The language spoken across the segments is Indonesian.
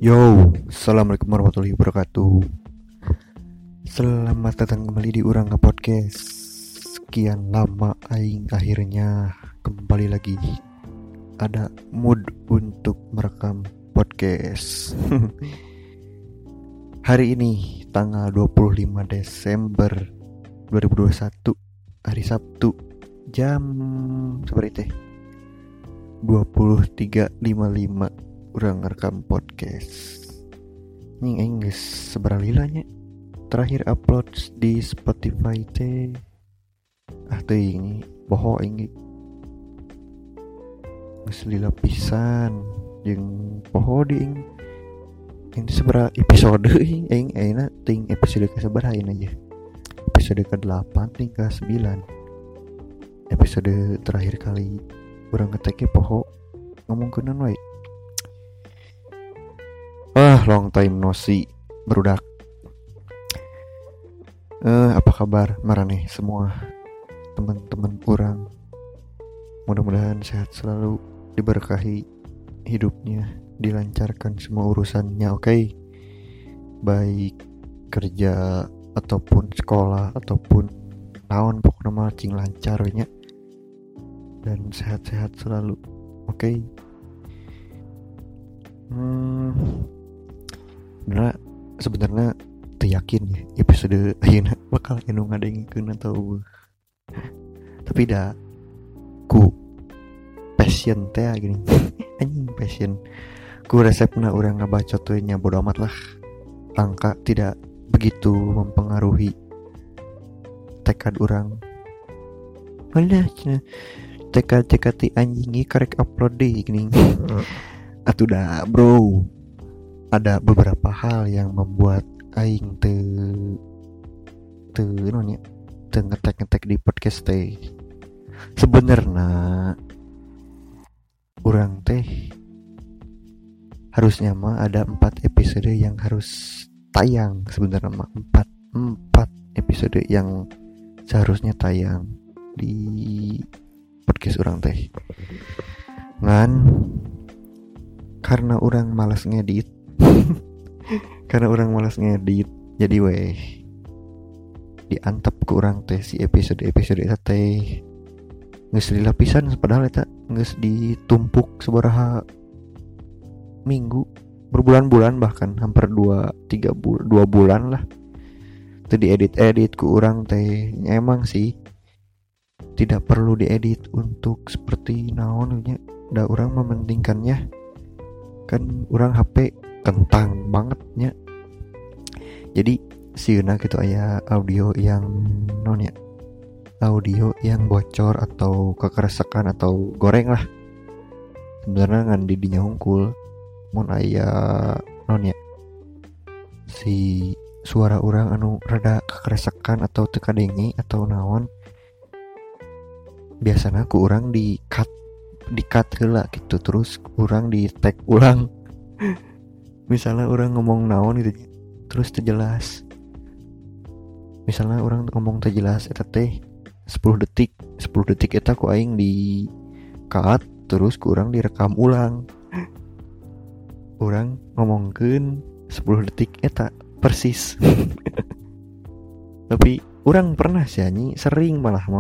Yo, assalamualaikum warahmatullahi wabarakatuh. Selamat datang kembali di Urang Podcast. Sekian lama aing akhirnya kembali lagi. Ada mood untuk merekam podcast. Hari ini tanggal 25 Desember 2021, hari Sabtu, jam seperti 23.55. Urang ngerekam podcast. Nying Inggris seberalilanya terakhir upload di Spotify teh. Teh ini boho ini geus lila pisan jeung poho di ini sebera episode aing ayeuna ting episode ke sabaraha aja. Episode ke-8 ting ke-9. Episode terakhir kali urang ngetek poho ngomongkeun wae. Long time no see, berudak. Apa kabar maraneh semua teman-teman urang? Mudah-mudahan sehat selalu, diberkahi hidupnya, dilancarkan semua urusannya, oke? Baik kerja ataupun sekolah ataupun naon pokoknya mah cing lancar nya. Dan sehat-sehat selalu, oke? Sebenarnya yakin ya episode ayeuna bakal anu ngadengikeun atau tapi dah ku passion teh gini anjing passion ku resepna urang ngabacot teh nya bodo amat lah, angka tidak begitu mempengaruhi tekad urang. Malah tekad ti anjing karek upload deh gini. Atuh dah bro, ada beberapa hal yang membuat aing ngetek di podcast teh. Sebenarnya urang teh harusnya mah ada 4 episode yang harus tayang. Sebenarnya mah 4 episode yang seharusnya tayang di podcast urang teh. Ngan karena orang malas ngedit jadi weh diantep ke orang teh si episode eta teh geus lila pisan, padahal eta geus ditumpuk sabaraha minggu, berbulan-bulan, bahkan hampir 2 bulan lah teu diedit ku urang teh. Emang sih tidak perlu diedit untuk seperti naonnya, da urang mementingkannya kan urang HP kentang bangetnya. Jadi sieuna gitu aya audio yang bocor atau kekeresekan atau goreng lah. Sebenarnya ngan di dinya hungkul mun aya si suara urang anu rada kekeresekan atau teu kadenge atau naon, biasana ku urang di cut heula gitu, terus urang di tag ulang. Misalnya orang ngomong naon gitu terus terjelas, misalnya orang ngomong terjelas eta teh 10 detik eta ku aing di cut terus ku urang direkam ulang. Urang ngomongkeun 10 detik eta persis. Tapi urang pernah sih sering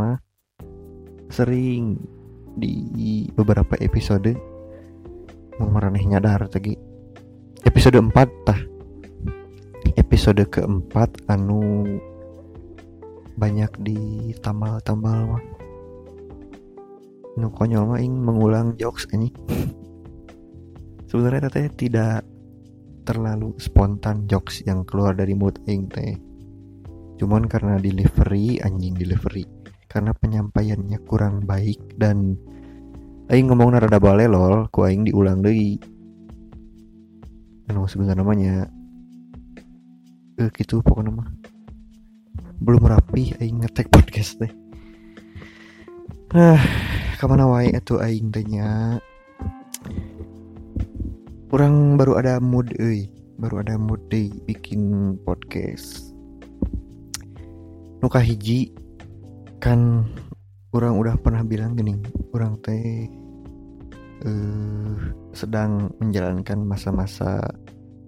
di beberapa episode maraneh nyadar tadi episode 4 tah, episode keempat anu banyak di tambal-tambal mah nu konyol mah ing mengulang jokes ini. Sebenarnya teh tidak terlalu spontan jokes yang keluar dari mulut aing teh, cuman karena delivery karena penyampaiannya kurang baik dan aing ngomongna rada balelol ku aing diulang deui. Anu sebenarnya namanya gitu pokoknya mah belum rapi aing ngetek podcast teh. Kamana wae atuh aing teh nya. Urang baru ada mood deui bikin podcast. Nu kahiji kan urang udah pernah bilang gini, urang teh sedang menjalankan masa-masa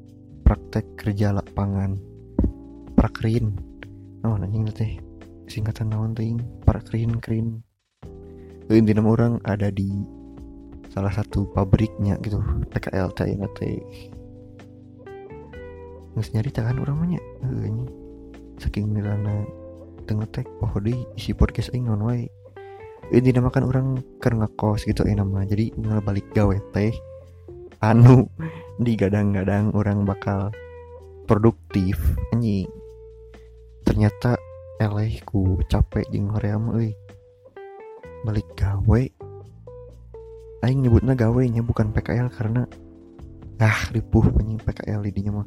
praktek kerja lapangan, prakrin. Oh anjing teh singkatan naon teh? Prakrin. Intinya orang ada di salah satu pabriknya gitu, PKL teh geus nyarita kan urang mah nya. Heuh saking milana teu ngetek deui isi podcast aing naon wae. Intinya makan orang keur ngekos gitu nama. Jadi balik gawe teh anu digadang-gadang orang bakal produktif anjing. Ternyata eleh ku capek jeung hoream euy. Balik gawe aing nyebutna gawe nya bukan PKL karena ripuh anjing PKL didinya mah.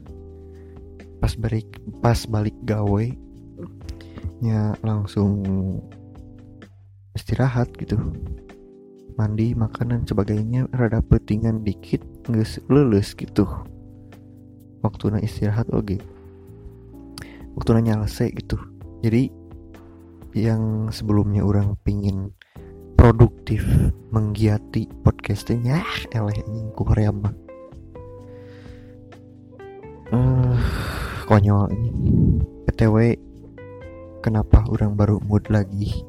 Pas balik gawe nya langsung istirahat gitu, mandi, makanan sebagainya, rada pentingan dikit geus leuleus gitu. Waktuna istirahat oge, waktuna nyalese gitu. Jadi yang sebelumnya orang pingin produktif menggiati podcastnya eleh anjing ku hoream mah. Konyol ini. PTW kenapa orang baru mood lagi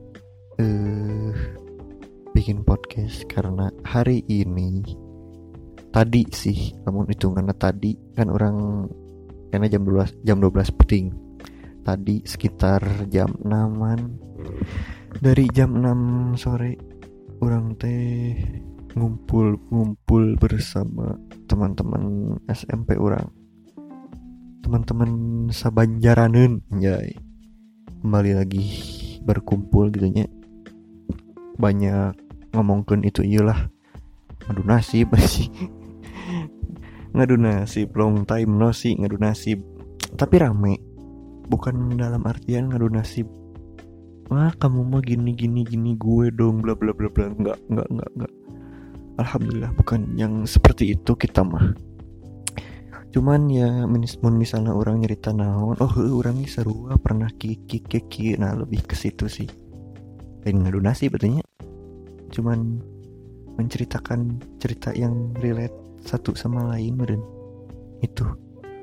bikin podcast? Karena hari ini tadi sih, namun hitungannya tadi kan orang karena jam 12 peting. Tadi sekitar jam 6-an. Dari jam 6 sore orang teh ngumpul bersama teman-teman SMP orang. Teman-teman sabanjaraneun anjay. Kembali lagi berkumpul gitu nya. Banyak ngomongkeun itu iyalah. Ngadu nasib sih. Ngadu nasib long time no sih ngadu nasib. Tapi rame. Bukan dalam artian ngadu nasib. Kamu mah gini gue dong bla bla bla bla. Enggak. Alhamdulillah bukan yang seperti itu kita mah. Cuman ya misalnya orang nyerita naon, orang ini sarua pernah kiki, nah lebih ke situ sih. Lain ngadu nasib betulnya. Cuman menceritakan cerita yang relate satu sama lain meureun. Itu.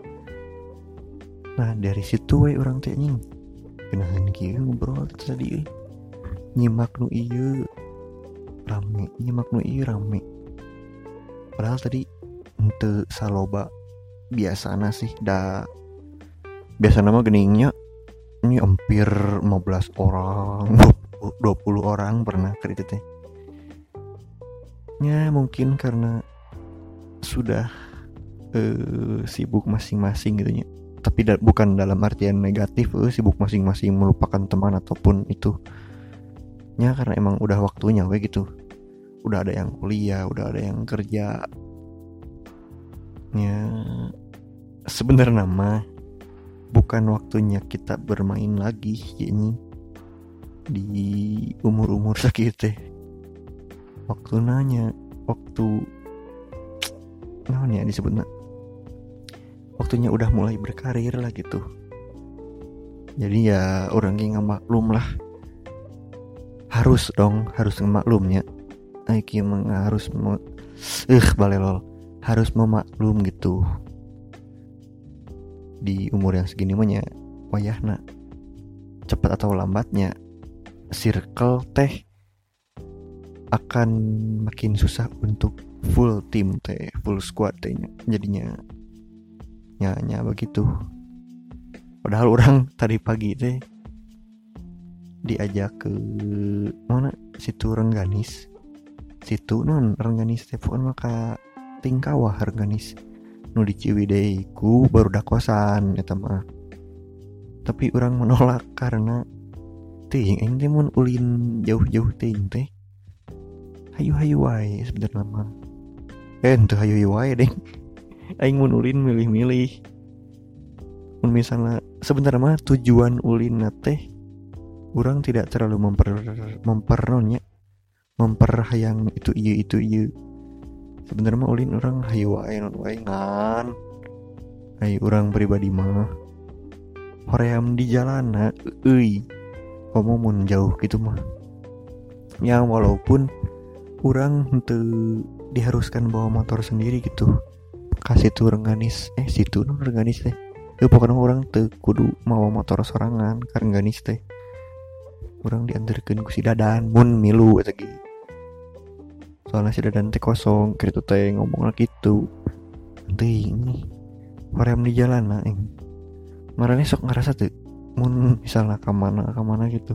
Nah, dari situ we orang teh anjing. Kenahan kieu ngobrol tadi. Nyimak nu ieu rame. Padahal tadi henteu saloba biasana sih biasana mah geningnya ini hampir 15 orang 20 orang pernah ke itu teh ya mungkin karena sudah sibuk masing-masing gitu nya. Tapi bukan dalam artian negatif sibuk masing-masing melupakan teman ataupun itu nya, karena emang udah waktunya we gitu. Udah ada yang kuliah, udah ada yang kerja. Ya sebenarnya mah bukan waktunya kita bermain lagi ini di umur segitu. Waktu namanya disebutnya waktunya udah mulai berkarir lah gitu. Jadi ya orang yang maklum lah. Harus ngemaklumnya. Aiki emang harus balelol. Harus memaklum gitu. Di umur yang segini mah wayahna cepat atau lambatnya circle teh akan makin susah untuk full team teh, full squad teh jadinya nya begitu. Padahal orang tadi pagi teh diajak ke mana situ Rengganis. Situ Rengganis teh pokoknya maka Tingkawah Rengganis nu di Ciwidey ku baru da kosan eta mah. Tapi orang menolak karena teuing aing teh mun ulin jauh-jauh teuing teh hayu-hayu wae sebenarnya mah. Teu hayu-hayu wae deng. Aing mun ulin milih-milih. Mun misalnya sebenarnya mah tujuan ulin teh urang tidak terlalu memperhayang itu ieu. Sebenarnya mah ulin orang hayu wae non wae ngan. Ai urang pribadi mah hoream di jalana ngomong mun jauh gitu mah. Ya walaupun urang henteu diharuskan bawa motor sendiri gitu. kasih tuh Rengganis situ non Rengganis teh pokoknya orang teu kudu mau motor sorangan ka Rengganis teh orang diantarkeun ku si Dadan mun milu eta ge soalnya si Dadan teh kosong kitu teh ngomong gitu teuing hoream di jalan marane sok ngerasa tuh mun misalnya kemana gitu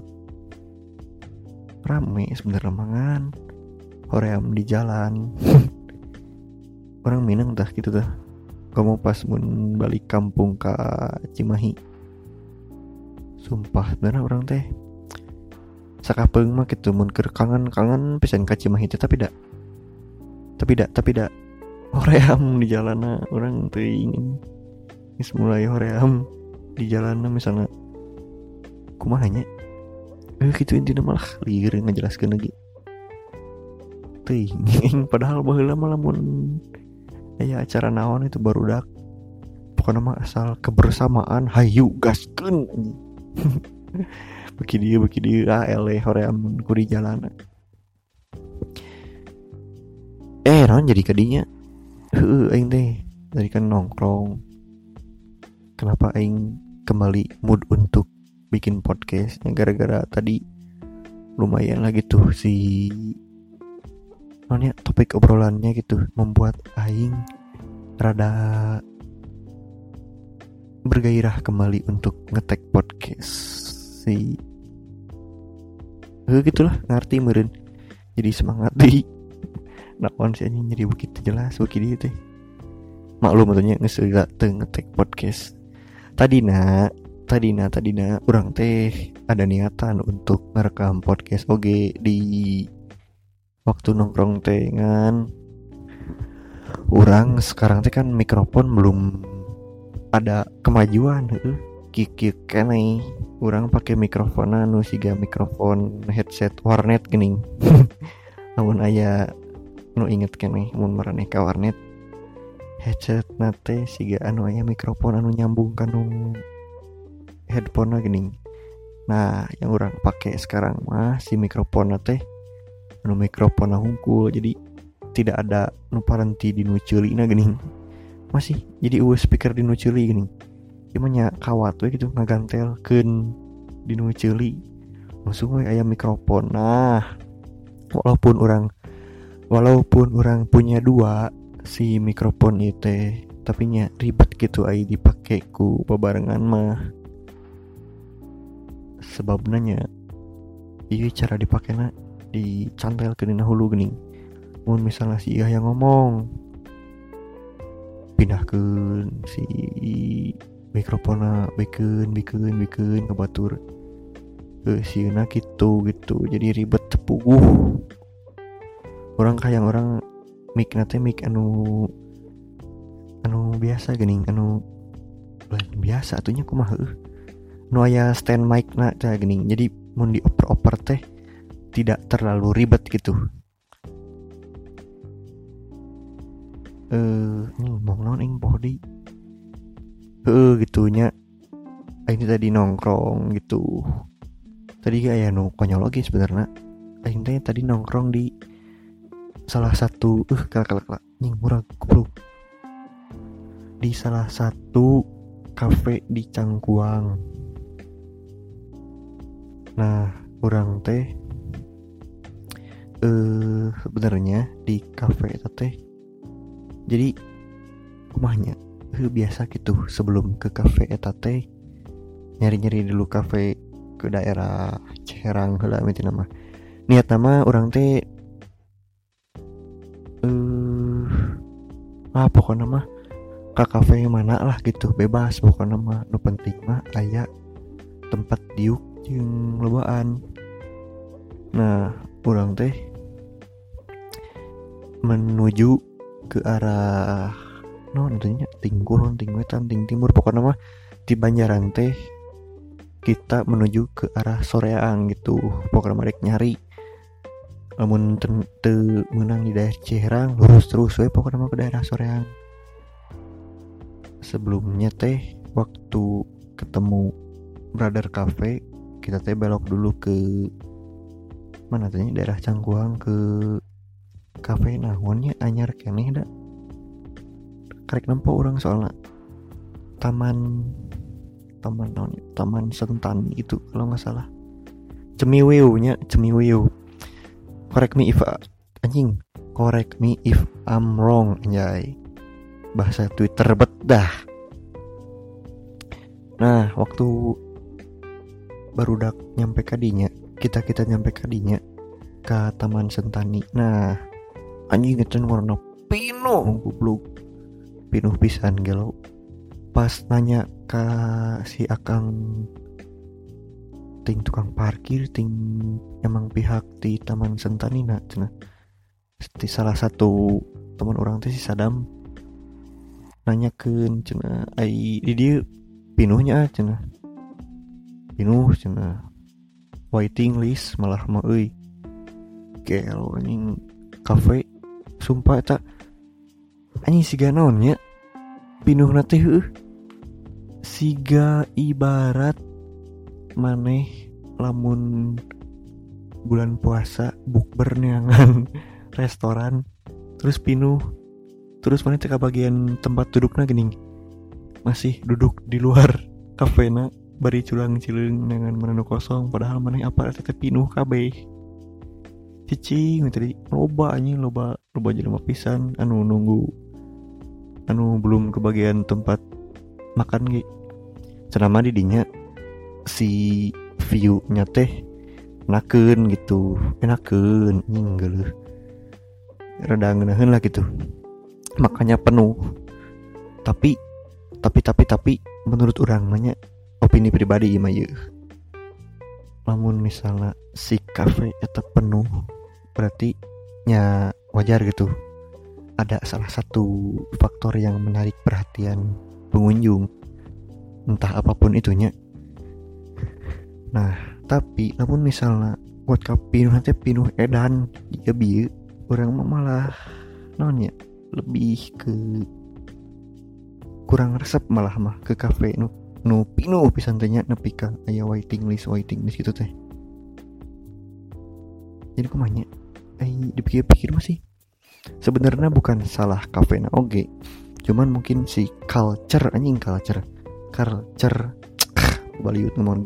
rame sebenernya mangan hoream di jalan orang Minang tah gitu tah kamu pas mun balik kampung ke Cimahi sumpah sebenarnya orang teh sakapeung mah gitu mun keur kangen pisan ka Cimahi teh tapi dak hoream di jalanna orang teu ingin geus mulai hoream di jalanna misalnya kumaha nya gitu intina malah lieur ngajelaskeun lagi teuing padahal baheula mah lamun aya acara naon itu barudak pokoknya mah asal kebersamaan hayu gaskeun beki dieu ele hoream ku di jalanan naon jadi kadinya aing teh dari kan nongkrong kenapa aing kembali mood untuk bikin podcast gara-gara tadi lumayan lah gitu si soalnya topik obrolannya gitu membuat aing rada bergairah kembali untuk ngetek podcast si gitulah ngerti meureun jadi semangat deh naon sih anjing jadi begitu jelas begitu teh maklum atunya geus teu ngetek podcast tadina urang teh ada niatan untuk ngerekam podcast oge di waktu nongkrong teh ngan urang sekarang teh kan mikrofon belum ada kemajuan kieu keneh urang pakai mikrofon anu siga mikrofon headset warnet geuning namun aya nu inget keneh mun maraneh ka warnet headset nate siga anu aya mikrofon anu nyambung kanu headphone geuning. Nah, yang urang pakai sekarang mah si mikrofon teh anu mikrofon hungkul jadi tidak ada nu parenti di nu ceulina geuning. Masih jadi speaker di nu ceuli geuning. Ieu mah nya kawat we gitu ngagantelkeun di nu ceuli. Langsung we aya mikrofon. Nah, walaupun orang punya dua si mikrofon ieu teh tapi nya ribet gitu aya dipake ku babarengan mah. Sebabna nya ieu cara dipakena dicantelkeun dina hulu geuning. Mun misalnya si ieu yang ngomong pindahkeun si mikrofonna bikeun ke batur. Sieuna gitu. Jadi ribet tepuguh. Orang kayang orang mic nate mic anu biasa geuning anu biasa atunya kumaha nu aya stand mic na teh geuning. Jadi mun dioper-oper teh tidak terlalu ribet gitu. Ngomong naon ing body. Gitunya. Ini tadi nongkrong gitu. Tadi aya nu konyol lagi sebenarnya. Aing teh tadi nongkrong di salah satu kalak nying murah goblok. Di salah satu kafe di Cangkuang. Nah, urang teh sebenarnya di kafe eta teh jadi kumahnya biasa gitu sebelum ke kafe eta teh nyari-nyari dulu kafe ke daerah Ciherang heula mitina mah. Niatna mah urang teh pokoknya mah ka kafe mana lah gitu bebas pokoknya mah nu penting mah aya tempat diuk jeung lobaan. Nah, urang teh menuju ke arah tentunya ting kulon, ting wetan, ting timur pokoknya mah di Banjaran teh kita menuju ke arah Soreang gitu. Pokoknya mah rek nyari lamun teu meunang di daerah Ciherang lurus terus we pokoknya mah ke daerah Soreang. Sebelumnya teh waktu ketemu Brother Cafe kita teh belok dulu ke mana teh daerah Cangkuang ke kafe naonnya anyar keneh da karek nempo orang soalnya taman Sentani itu kalau nggak salah. Cemiweu. Correct me if I'm wrong, anjay. Bahasa Twitter dah. Nah, waktu barudak nyampe kadinya, kita nyampe kadinya ke Taman Sentani. Nah, anjing ngecen warna pinuh goblok. Pinuh pisan gelau. Pas nanya ke si Akang ting tukang parkir ting emang pihak di Taman Sentani cenah. Salah satu teman orang teh si Sadam nanyakeun cenah ai di dieu pinuhnya cenah. Pinuh cenah. Waiting list malah mah euy. Gelo anjing kafe sumpah eta anjing siga naon nya pinuhna teh heuh. Siga ibarat maneh lamun bulan puasa bukber neangan restoran terus pinuh terus maneh teh bagian tempat dudukna geuning masih duduk di luar kafena bari culang-cileung neangan mana kosong padahal maneh apa teh pinuh kabeh. Cicing tadi loba jelema pisan anu nunggu anu belum kebagian tempat makan ge. Cenah di dinya si view-nya teh enakeun gitu. Enakeun geuleuh. Rada ngeunaheun lah gitu. Makanya penuh. Tapi menurut urang mah nya opini pribadi mah yeuh. Lamun misalnya si kafe eta penuh berarti nya wajar gitu. Ada salah satu faktor yang menarik perhatian pengunjung. Entah apapun itunya. Nah, tapi namun misalnya buat pinuh nanti pinuh edan jika bieu orang malah nonnya lebih ke kurang resep malah mah ke kafe nu pinuh pisan teh nya nepi ka aya waiting list gitu teh. Jadi kumanya dipikir-pikir masih sebenarnya bukan salah kafena oge. Cuman mungkin si culture baliut ngomong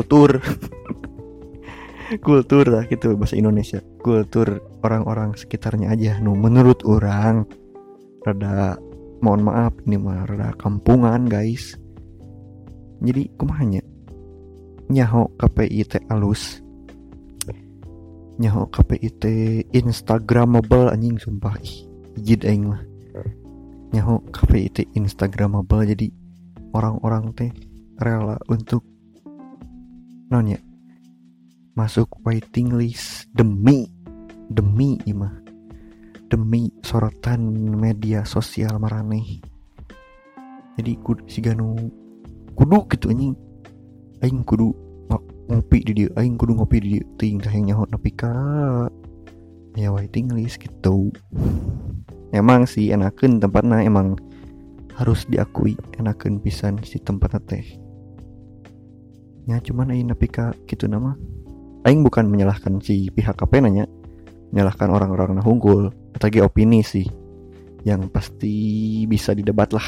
kultur lah gitu bahasa Indonesia. Kultur orang-orang sekitarnya aja menurut orang rada mohon maaf ini mah rada kampungan guys. Jadi kumahanya nyaho KPI teh alus. Nyaho KPI teh instagramable anjing sumpah jid aing mah. Nyaho KPI teh instagramable jadi orang-orang teh rela untuk nanya masuk waiting list demi imah demi sorotan media sosial maraneh. Jadi siganu kudu gitu anjing aing kudu ngopi di dieu aing kudu ngopi di dieu ting teh nyaho nepi ka ya waiting list gitu. Emang sih enakeun tempatna emang harus diakui enakeun pisan si tempatna teh. Ya cuman aing nepi ka kitu nama. Aing bukan menyalahkan si pihak KP nanya, menyalahkan orang-orang na hungkul. Tadi opini sih yang pasti bisa didebat lah.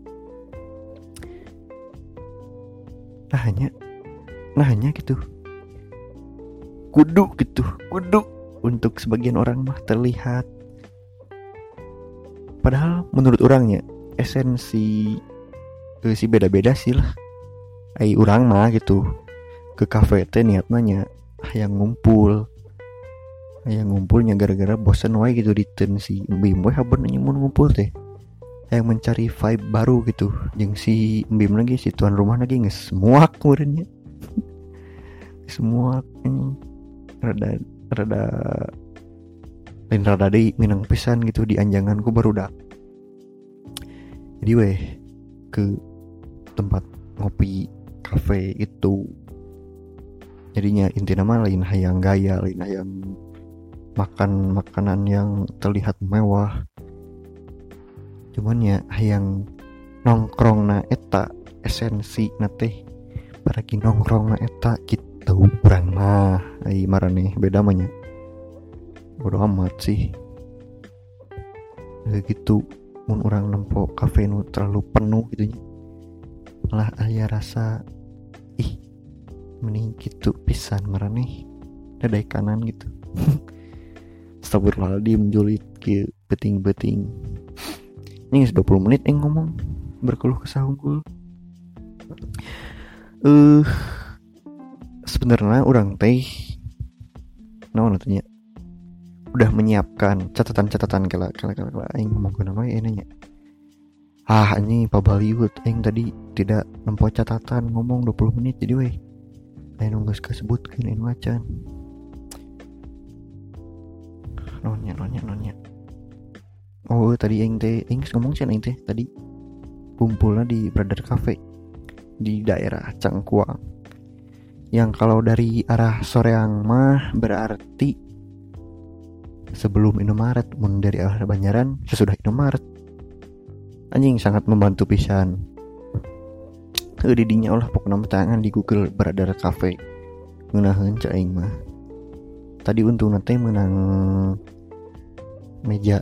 Nah hanya gitu. Kudu untuk sebagian orang mah terlihat. Padahal menurut orangnya esensi si beda-beda sih lah. Ai urang mah gitu ke kafe teh niatnya hayang ngumpulnya gara-gara bosan wae gitu di ten si Mbim we haber nanya mun ngumpul teh hayang mencari vibe baru gitu jeung si Mbim lagi si tuan rumah lagi geus muak meureunnya semua rada lain rada deui minang pisan gitu di anjanganku barudak. Jadi weh ke tempat ngopi kafe itu jadinya inti nama lain hayang gaya, lain hayang makan makanan yang terlihat mewah, cuman ya hayang nongkrong na eta esensi na teh baraki nongkrong na eta gitu urang mah ai marane beda mah nya bodo amat sih gitu. mun urang nempo kafe nu terlalu penuh gitu nya lah aya rasa ih mending gitu pisan maraneh dadai kanan gitu. Astagfirullahaladzim julid kieu beting-beting. Ini 20 menit ngomong berkeluh kesah unggul. Sebenarnya orang teh naon atunya udah menyiapkan catatan-catatan kala aing ngomong ke nama nanya. Ini pabaliut aing tadi tidak nempo catatan ngomong 20 menit jadi weh. Aing geus kasebutkeun aing macan. Nonya. Oh, tadi aing ngomong sih aing teh tadi kumpulnya di Brother Cafe di daerah Cangkuang. Yang kalau dari arah Soreang mah berarti sebelum Indomaret, mun dari arah Banjaran sesudah Indomaret. Anjing sangat membantu pisan. Didinya ulah pokokna tangan di Google Brother Cafe. Ngeunaheun ca aing mah. Tadi untungna teh menang meja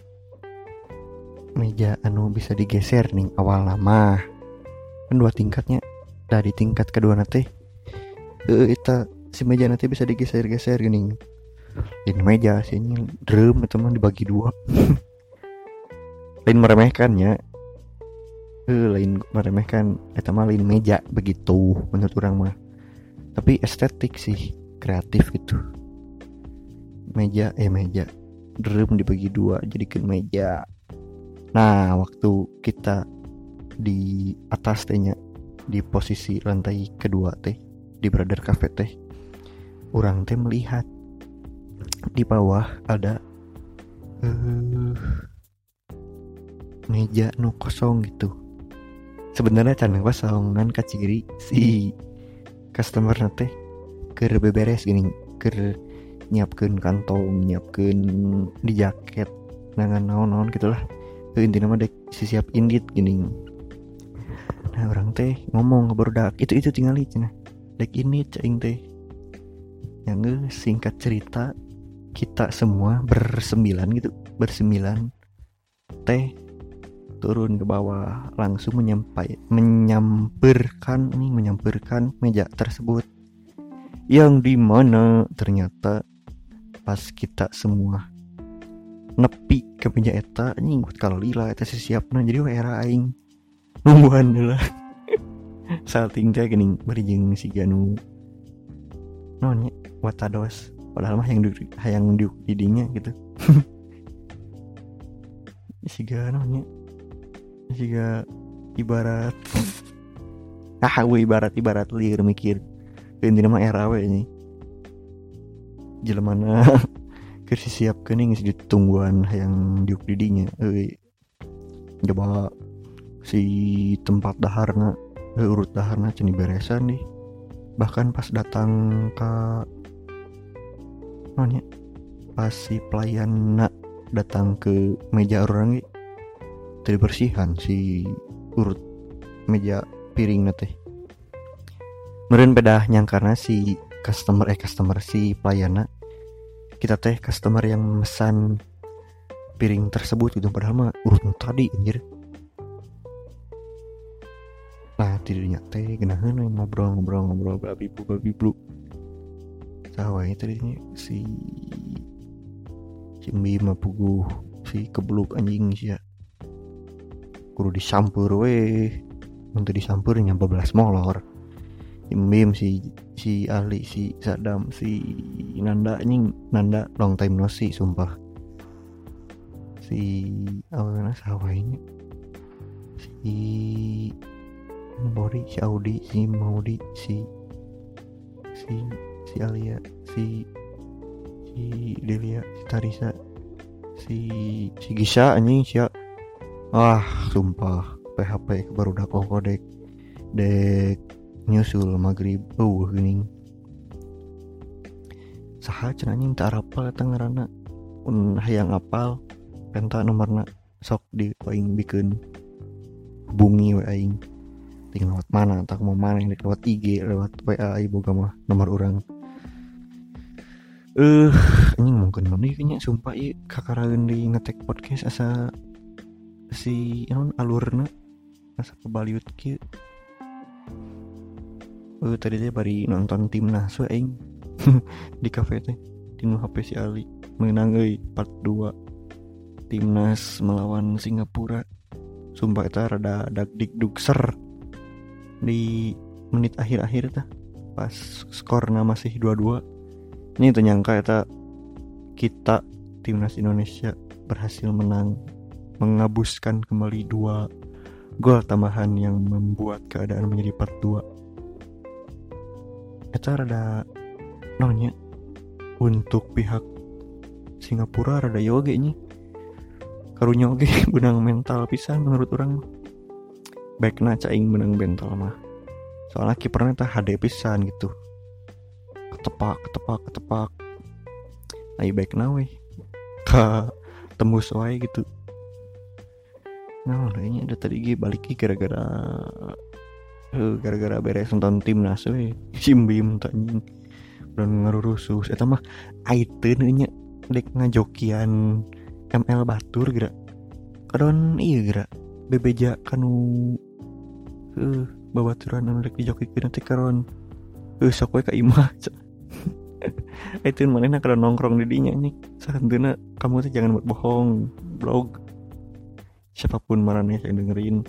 anu bisa digeser nih awal mah. Kan 2 tingkatnya. Dari tingkat kedua teh eta si meja nanti bisa digeser-geser gini. Lain meja sini drum teman dibagi 2. Lain meremehkannya. Lain meremehkan eta mah lain meja begitu menurut orang mah. Tapi estetik sih, kreatif gitu. Meja drum dibagi 2 jadikan meja. Nah, waktu kita di atas tehnya di posisi lantai kedua teh di Brother Cafe teh orang teh melihat di bawah ada meja nu kosong gitu. Sebenarnya can kosong nan kaciri si customer teh keur beberes gini, keur nyiapkeun kantong, nyiapkeun di jaket, nangan naon-naon gitulah. Intina mah dek siap indit gini. Nah, orang teh ngomong ke barudak, itu tinggal cenah. Dek ini cing teh. Yang singkat cerita kita semua bersembilan teh turun ke bawah langsung menyamperkan meja tersebut yang dimana ternyata pas kita semua nepi ke meja eta nyinggut kalau lila eta siapna jadi era aing nungguan heula salting teh geuning bari jeung si Ganu naon nya watados padahal mah hayang diuk didinya gitu. Siga naon nya siga ibarat ibarat lieur mikir intina mah era we nya jelemana keur siapkeun geus ditungguan hayang diuk didinya coba si tempat daharna urut daharna cenah beresan nih. Bahkan pas datang ke nanya pas si pelayan datang ke meja orang ge teu bersihan si urut meja piring teh. Meureun bedah nyangkarna si customer si pelayan kita teh customer yang memesan piring tersebut gitu padahal mah urut tadi anjir. Nah tidurnya teh genaheun ngobrol babiblu sawa itu tadinya si Mbim puguh si kebluk anjing sia kudu disampur we untuk disampur nyampe 12 molor. Mbim si Ali si Sadam si Nanda long time no see sumpah. Si awalnya sawa ini si Bori, si Audi, si Maudi, si Alia, si Delia, si Tarisa, si Gisa anjing sia. Sumpah PHP barudak kodek dek nyusul maghrib geuning. Saha cenah anjing teu arapal eta ngaranna. Un hayang apal penta nomorna sok di aing bikeun hubungi we aing. Tinggal lewat mana, tak mau mana lewat IG, lewat WA boga mah nomor orang. Anjing mungkin mana nya sumpah ieu kakaraeun di ngetek podcast asa si alurna asa kebaliut kieu. Tadi teh bari nonton timnas we aing di kafe teh di nu HP si Ali menang euy part 2 timnas melawan Singapura. Sumpah eta rada dagdikdukser di menit akhir-akhir tah pas skorna masih 2-2. Ini ternyangka eta kita timnas Indonesia berhasil menang, mengabuskan kembali 2 gol tambahan yang membuat keadaan menjadi part 2. Eta rada nonnya untuk pihak Singapura rada yoge nya karunya oge benang mental pisan menurut orang. Baikna caing menang mental mah soalnya kipernya tah hade pisan gitu, ketepak ai baikna we ka tembus wae gitu. Nah kayaknya ada tadi ge balik gara-gara beres nonton timnas we simbim tanya dan ngarurusus eta mah aiteun nya dek ngajokian ML batur geura kadon ieu geura bebeja kanu babaturan anu dek dijokikeun teh karon sok we ka imah aiteun manehna kada nongkrong di dinya nih sarenteuna kamu teh jangan berbohong blog siapapun marane yang dengerin.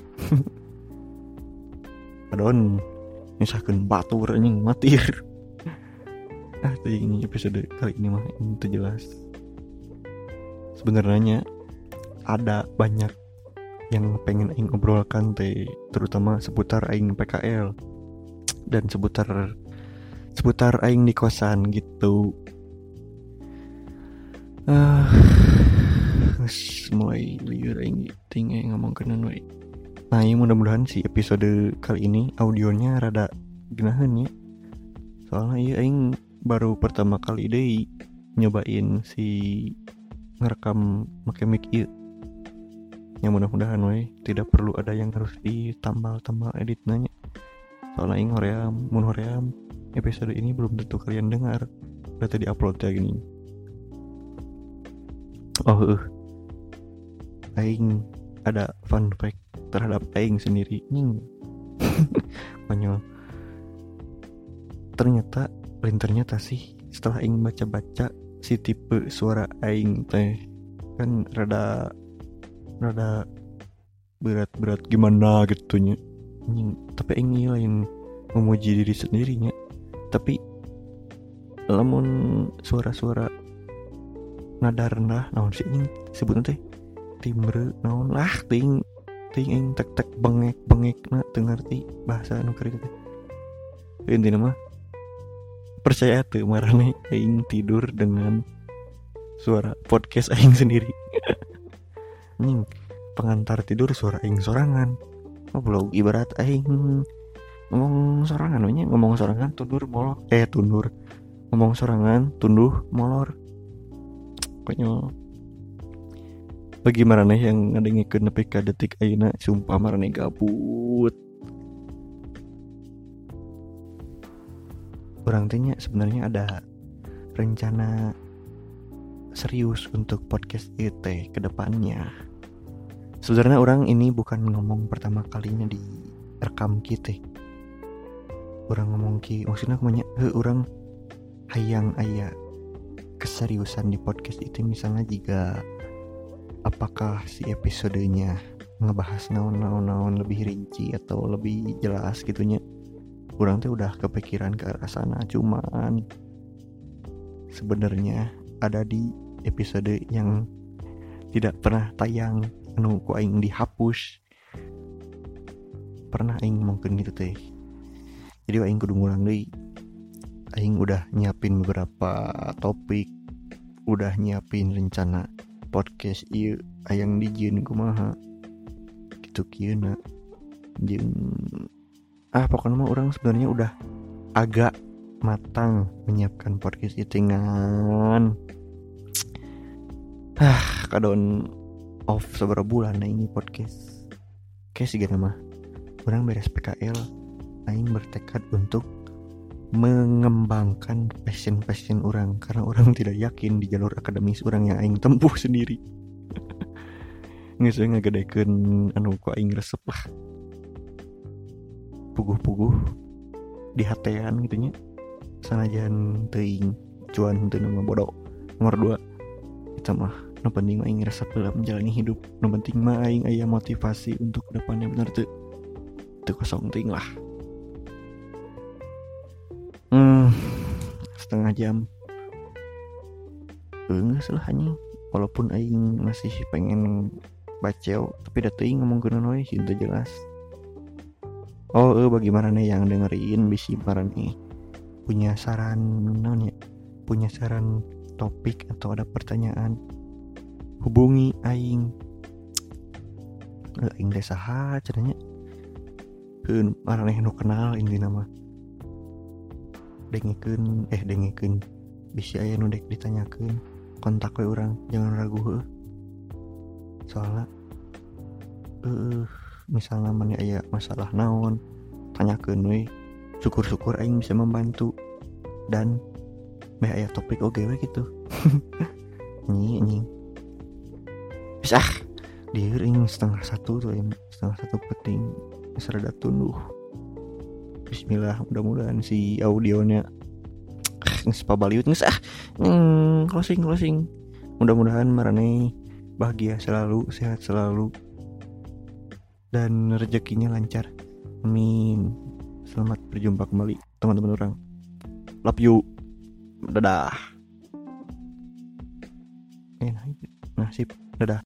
Kadon nyusahkeun batur anjing matir. Tadi ini episode kali ini mah itu jelas. Sebenarnya ada banyak yang pengen aing obrolkan teh, terutama seputar aing PKL dan seputar aing di kosan gitu. Mulai liur aing tinggal ngomongkeun we. Nah, ya mudah-mudahan si episode kali ini audionya rada geunaheun ya. Soalnya ieu aing baru pertama kali deui nyobain si ngerekam make mic ieu. Ya mudah-mudahan we tidak perlu ada yang harus ditambal-tambal editnya. Soalnya aing hoream episode ini belum tentu kalian dengar. Udah tadi upload ya gini. Aing ada fun fact terhadap aing sendiri. Konyol. Ternyata sih setelah aing baca-baca si tipe suara aing teh kan rada berat gimana gitunya. Tapi aing lain memuji diri sendirinya. Tapi lamun suara-suara nada rendah naon sih anjing sebutna teh timbre naon lah ting aing tek bengek na teu ngarti bahasa anu kieu teh. Intina mah percaya teu marane aing tidur dengan suara podcast aing sendiri. Anjing pengantar tidur suara aing sorangan. Belum ibarat aing ngomong sorangan we nya, ngomong sorangan tundur molor ngomong sorangan tunduh molor. Konyol. Bagi marane yang ngadengikeun nepi ka detik ayeuna sumpah marane gabut. Urang teh nya sebenarnya ada rencana serius untuk podcast ieu teh ke depannya. Sebenarnya orang ini bukan ngomong pertama kalinya di rekam kita. Orang ngomong ki maksudnya kumanya orang hayang aya keseriusan di podcast itu, misalnya jika apakah si episodenya ngebahas naon lebih rinci atau lebih jelas gitunya. Urang teh udah kepikiran ke arah sana, cuman sebenarnya ada di episode yang tidak pernah tayang anu ku aing dihapus. Pernah aing ngomongkeun gitu teh. Jadi aing kudu ngulang deui. Aing udah nyiapin beberapa topik, udah nyiapin rencana podcast ieu hayang dijieun kumaha kitu kieuna jeung pokoknya mah orang sebenarnya udah agak matang menyiapkan podcast ieu dengan kadon off seberapa bulan ini podcast kayak sih gana mah orang beres PKL aing bertekad untuk mengembangkan passion orang karena orang tidak yakin di jalur akademis orang yang aing tempuh sendiri. geus ngagedekeun anu ku aing resep lah. Puguh-puguh di hatean gitu nya. Sanajan teuing cuan teu nu bodoh. Nomor 2, eta mah nu penting mah aing resep dalam menjalani hidup. Nu penting mah aing aya motivasi untuk kedepannya bener teu kosong teuing lah. Setengah jam. Geus lah anjing. Walaupun aing masih pengen baceo, tapi da teuing ngomongkeun we sih teu jelas. Bagaimana nih yang dengerin bisi marane punya saran naon ya? Punya saran topik atau ada pertanyaan, hubungi aing. Aing teh saha cenanya? Keun marane nu kenal intina mah. Dengekeun bisi aya nu dek ditanyakeun, kontak we urang, jangan ragu heuh. Soalnya misalnya mana aya masalah naon, tanyakeun we. Syukur-syukur aing bisa membantu dan aya topik oge we gitu. Anjing. Bisa dieur aing 12:30 tuh, 12:30 penting serada tunduh. Bismillah, mudah-mudahan si audionya geus pabaliut geus closing. Mudah-mudahan marane bahagia selalu, sehat selalu, dan rezekinya lancar. Amin. Selamat berjumpa kembali teman-teman orang. Love you. Dadah. Nasib. Dadah.